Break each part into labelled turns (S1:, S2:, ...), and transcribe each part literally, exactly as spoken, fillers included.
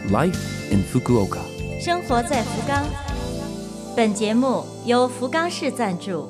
S1: Life in Fukuoka，
S2: 生活在福冈。本节目由福冈市赞助。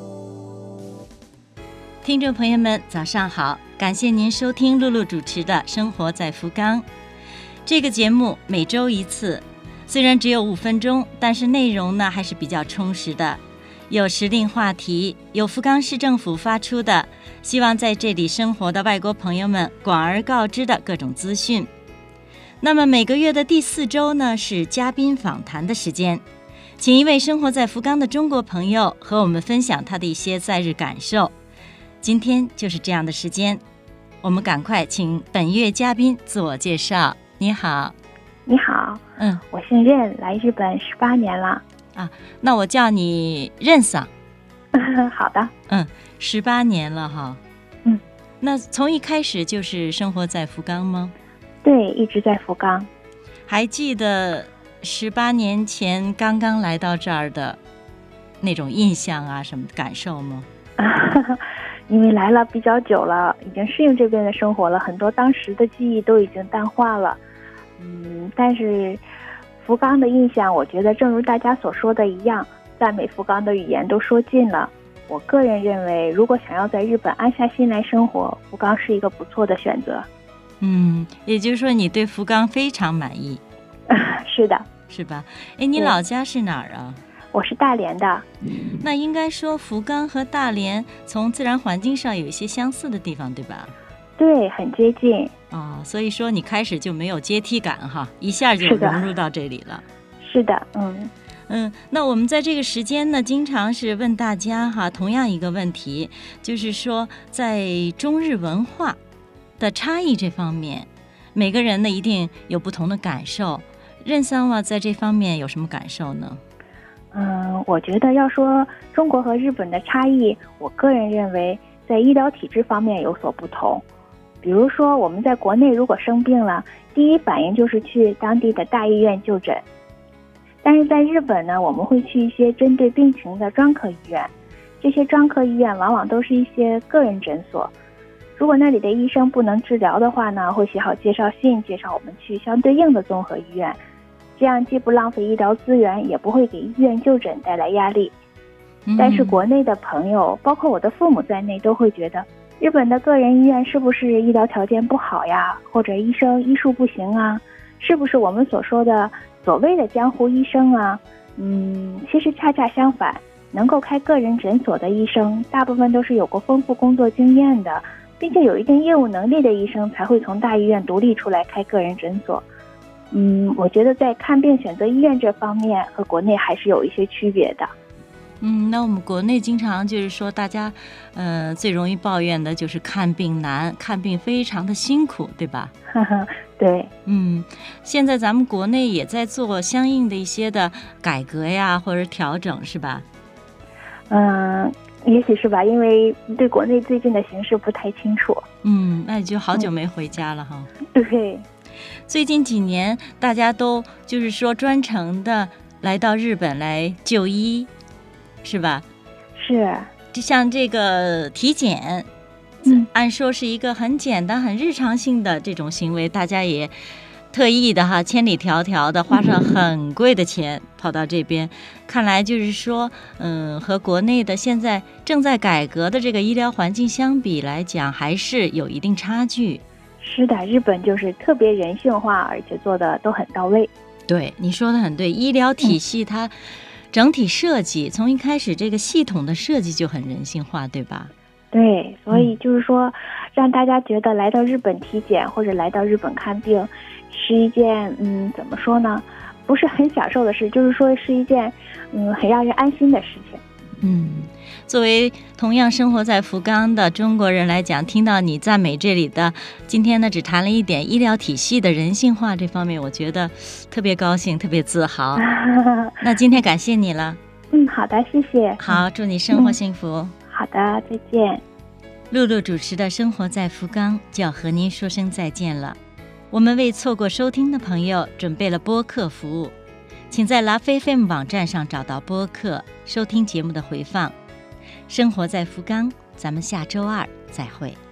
S2: 听众朋友们，早上好，感谢您收听露露主持的《生活在福冈》。这个节目每周一次，虽然只有五分钟，但是内容呢还是比较充实的。有时令话题，有福冈市政府发出的希望在这里生活的外国朋友们广而告之的各种资讯。那么每个月的第四周呢，是嘉宾访谈的时间，请一位生活在福冈的中国朋友和我们分享他的一些在日感受。今天就是这样的时间，我们赶快请本月嘉宾自我介绍。你好。
S3: 你好，
S2: 嗯，
S3: 我姓任，来日本十八年了。
S2: 啊，那我叫你任桑。
S3: 好的。
S2: 嗯，十八年了哈。
S3: 嗯，
S2: 那从一开始就是生活在福冈吗？
S3: 对，一直在福冈。
S2: 还记得十八年前刚刚来到这儿的那种印象啊，什么感受吗？
S3: 因为来了比较久了，已经适应这边的生活了，很多当时的记忆都已经淡化了。嗯，但是福冈的印象，我觉得正如大家所说的一样，赞美福冈的语言都说尽了。我个人认为，如果想要在日本安下心来生活，福冈是一个不错的选择。
S2: 嗯，也就是说你对福冈非常满意。
S3: 是的。
S2: 是吧？哎，你老家是哪儿啊？
S3: 我是大连的。
S2: 那应该说福冈和大连从自然环境上有一些相似的地方，对吧？
S3: 对，很接近。
S2: 哦，所以说你开始就没有阶梯感哈，一下就融入到这里了。
S3: 是的，嗯
S2: 嗯，那我们在这个时间呢，经常是问大家哈，同样一个问题，就是说在中日文化的差异这方面，每个人呢一定有不同的感受。任桑瓦在这方面有什么感受呢？
S3: 嗯，我觉得要说中国和日本的差异，我个人认为在医疗体制方面有所不同。比如说我们在国内如果生病了，第一反应就是去当地的大医院就诊，但是在日本呢，我们会去一些针对病情的专科医院，这些专科医院往往都是一些个人诊所，如果那里的医生不能治疗的话呢，会写好介绍信介绍我们去相对应的综合医院，这样既不浪费医疗资源，也不会给医院就诊带来压力。但是国内的朋友，包括我的父母在内，都会觉得日本的个人医院是不是医疗条件不好呀，或者医生医术不行啊，是不是我们所说的所谓的江湖医生啊？嗯，其实恰恰相反，能够开个人诊所的医生，大部分都是有过丰富工作经验的，并且有一定业务能力的医生才会从大医院独立出来开个人诊所。嗯，我觉得在看病选择医院这方面和国内还是有一些区别的。
S2: 嗯，那我们国内经常就是说大家呃最容易抱怨的就是看病难，看病非常的辛苦，对吧？
S3: 对。
S2: 嗯，现在咱们国内也在做相应的一些的改革呀，或者调整，是吧？
S3: 嗯，也许是吧，因为对国内最近的形势不太清楚。
S2: 嗯，那你就好久没回家了哈。
S3: 嗯、对。
S2: 最近几年大家都就是说专程的来到日本来就医，是吧？
S3: 是。
S2: 就像这个体检，
S3: 嗯，
S2: 按说是一个很简单很日常性的这种行为，大家也特意的哈，千里迢迢的花上很贵的钱跑到这边，看来就是说嗯，和国内的现在正在改革的这个医疗环境相比来讲，还是有一定差距。
S3: 是的，日本就是特别人性化，而且做的都很到位。
S2: 对，你说的很对，医疗体系它整体设计、嗯、从一开始这个系统的设计就很人性化，对吧？
S3: 对，所以就是说、嗯、让大家觉得来到日本体检或者来到日本看病是一件嗯怎么说呢，不是很享受的事，就是说是一件嗯很让人安心的事情。
S2: 嗯，作为同样生活在福冈的中国人来讲，听到你赞美这里的，今天呢只谈了一点医疗体系的人性化这方面，我觉得特别高兴，特别自豪。那今天感谢你了。
S3: 嗯，好的，谢谢。
S2: 好，祝你生活幸福。嗯、
S3: 好的，再见。
S2: 露露主持的生活在福冈就要和您说声再见了。我们为错过收听的朋友准备了播客服务，请在 Love F M 网站上找到播客，收听节目的回放。生活在福冈，咱们下周二再会。